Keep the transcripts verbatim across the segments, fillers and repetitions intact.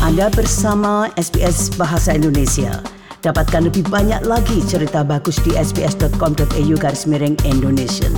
Anda bersama S B S Bahasa Indonesia. Dapatkan lebih banyak lagi cerita bagus di sbs.com.au garis miring Indonesian.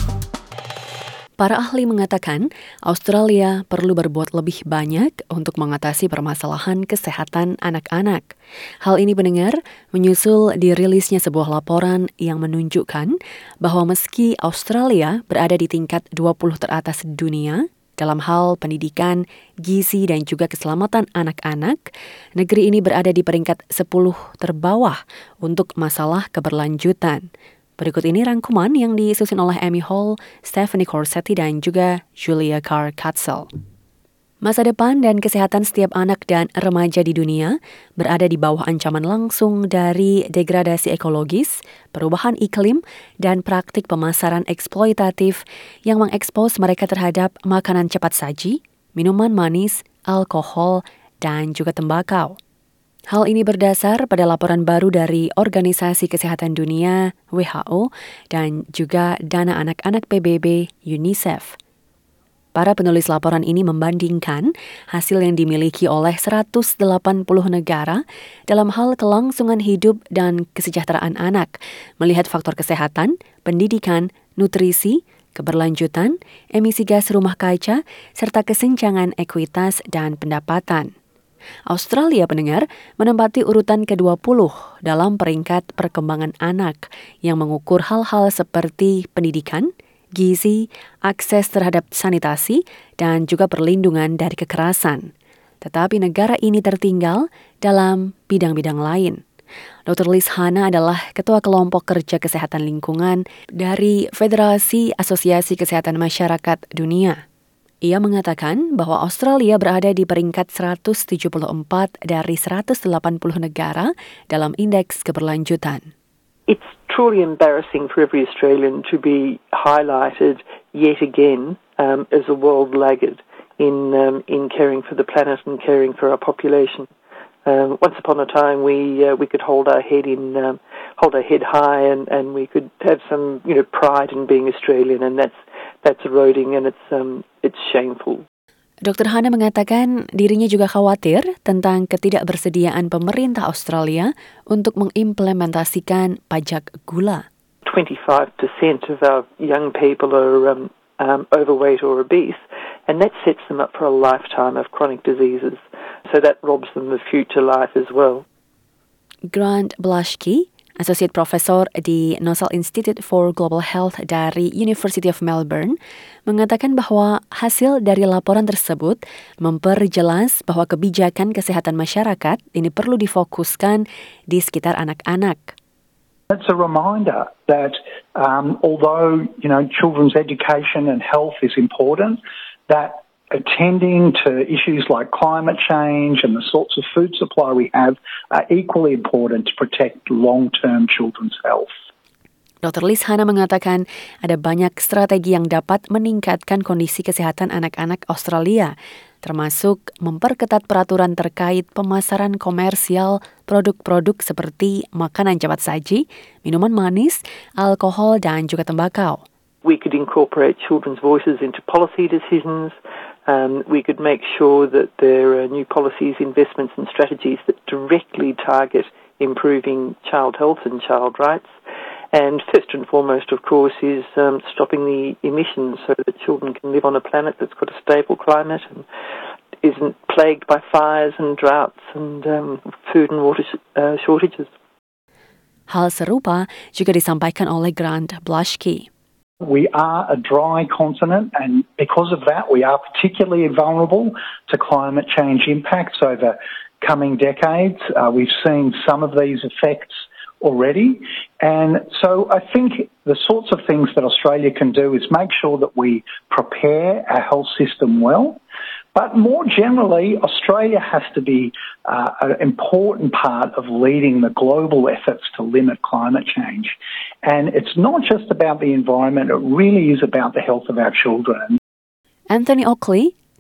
Para ahli mengatakan Australia perlu berbuat lebih banyak untuk mengatasi permasalahan kesehatan anak-anak. Hal ini pendengar menyusul dirilisnya sebuah laporan yang menunjukkan bahwa meski Australia berada di tingkat dua puluh teratas dunia dalam hal pendidikan, gizi dan juga keselamatan anak-anak, negeri ini berada di peringkat sepuluh terbawah untuk masalah keberlanjutan. Berikut ini rangkuman yang disusun oleh Amy Hall, Stephanie Corsetti, dan juga Julia Carr-Katzel. Masa depan dan kesehatan setiap anak dan remaja di dunia berada di bawah ancaman langsung dari degradasi ekologis, perubahan iklim, dan praktik pemasaran eksploitatif yang mengekspos mereka terhadap makanan cepat saji, minuman manis, alkohol, dan juga tembakau. Hal ini berdasar pada laporan baru dari Organisasi Kesehatan Dunia W H O dan juga Dana Anak-anak P B B UNICEF. Para penulis laporan ini membandingkan hasil yang dimiliki oleh seratus delapan puluh negara dalam hal kelangsungan hidup dan kesejahteraan anak, melihat faktor kesehatan, pendidikan, nutrisi, keberlanjutan, emisi gas rumah kaca, serta kesenjangan ekuitas dan pendapatan. Australia pendengar menempati urutan ke dua puluh dalam peringkat perkembangan anak yang mengukur hal-hal seperti pendidikan, gizi, akses terhadap sanitasi, dan juga perlindungan dari kekerasan. Tetapi negara ini tertinggal dalam bidang-bidang lain. Doktor Liz Hanna adalah Ketua Kelompok Kerja Kesehatan Lingkungan dari Federasi Asosiasi Kesehatan Masyarakat Dunia. Ia mengatakan bahwa Australia berada di peringkat seratus tujuh puluh empat dari seratus delapan puluh negara dalam indeks keberlanjutan. It's truly embarrassing for every Australian to be highlighted yet again um, as a world laggard in um, in caring for the planet and caring for our population. Um, once upon a time, we uh, we could hold our head in um, hold our head high, and, and we could have some you know pride in being Australian, and that's that's eroding, and it's um it's shameful. Doktor Hanna mengatakan dirinya juga khawatir tentang ketidakbersediaan pemerintah Australia untuk mengimplementasikan pajak gula. twenty-five percent of our young people are um, um, overweight or obese, and that sets them up for a lifetime of chronic diseases. So that robs them of future life as well. Grant Blashki, Associate Professor di Nossal Institute for Global Health dari University of Melbourne, mengatakan bahwa hasil dari laporan tersebut memperjelas bahwa kebijakan kesehatan masyarakat ini perlu difokuskan di sekitar anak-anak. It's a reminder that um, although you know children's education and health is important, that attending to issues like climate change and the sorts of food supply we have are equally important to protect long-term children's health. Doktor Liz Hanna mengatakan ada banyak strategi yang dapat meningkatkan kondisi kesehatan anak-anak Australia, termasuk memperketat peraturan terkait pemasaran komersial produk-produk seperti makanan cepat saji, minuman manis, alkohol, dan juga tembakau. We could incorporate children's voices into policy decisions. Um, we could make sure that there are new policies, investments and strategies that directly target improving child health and child rights. And first and foremost, of course, is um, stopping the emissions so that children can live on a planet that's got a stable climate and isn't plagued by fires and droughts and um, food and water sh- uh, shortages. Hal serupa juga disampaikan oleh Grant Blashki. We are a dry continent, and because of that, we are particularly vulnerable to climate change impacts over coming decades. Uh, we've seen some of these effects already, and so I think the sorts of things that Australia can do is make sure that we prepare our health system well. But more generally, Australia has to be uh, an important part of leading the global efforts to limit climate change. And it's not just about the environment, it really is about the health of our children. Anthony Oakley,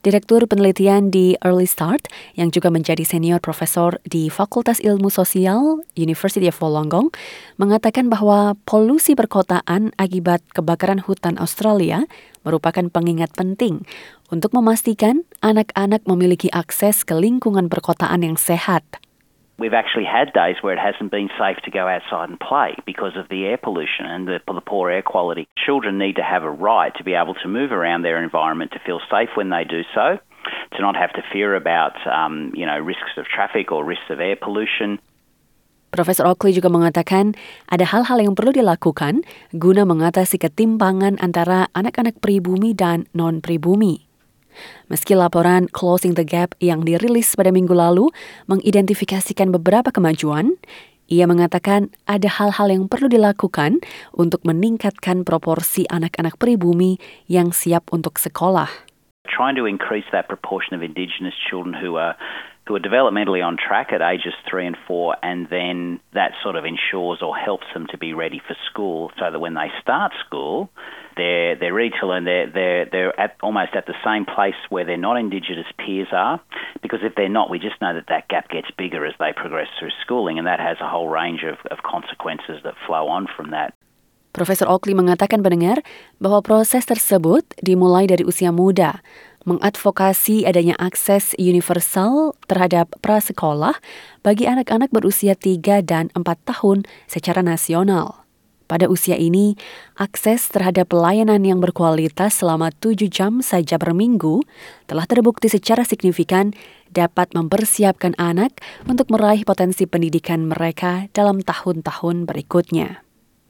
Direktur penelitian di Early Start yang juga menjadi senior profesor di Fakultas Ilmu Sosial University of Wollongong mengatakan bahwa polusi perkotaan akibat kebakaran hutan Australia merupakan pengingat penting untuk memastikan anak-anak memiliki akses ke lingkungan perkotaan yang sehat. We've actually had days where it hasn't been safe to go outside and play because of the air pollution and the, the poor air quality. Children need to have a right to be able to move around their environment, to feel safe when they do so, to not have to fear about um, you know, risks of traffic or risks of air pollution. Profesor Oakley juga mengatakan ada hal-hal yang perlu dilakukan guna mengatasi ketimpangan antara anak-anak pribumi dan non-pribumi. Meski laporan Closing the Gap yang dirilis pada minggu lalu mengidentifikasikan beberapa kemajuan, ia mengatakan ada hal-hal yang perlu dilakukan untuk meningkatkan proporsi anak-anak pribumi yang siap untuk sekolah. Trying to increase that proportion of Indigenous children who are who are developmentally on track at ages three and four, and then that sort of ensures or helps them to be ready for school, so that when they start school, they're they're ready to learn. They're they're they're at almost at the same place where their non-Indigenous peers are, because if they're not, we just know that that gap gets bigger as they progress through schooling, and that has a whole range of, of consequences that flow on from that. Profesor Oakley mengatakan pendengar bahwa proses tersebut dimulai dari usia muda, mengadvokasi adanya akses universal terhadap prasekolah bagi anak-anak berusia tiga dan empat tahun secara nasional. Pada usia ini, akses terhadap pelayanan yang berkualitas selama tujuh jam saja per minggu telah terbukti secara signifikan dapat mempersiapkan anak untuk meraih potensi pendidikan mereka dalam tahun-tahun berikutnya.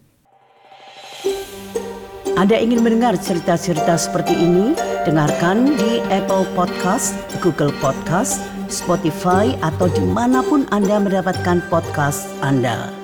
Anda ingin mendengar cerita-cerita seperti ini? Dengarkan di Apple Podcast, Google Podcast, Spotify, atau dimanapun Anda mendapatkan podcast Anda.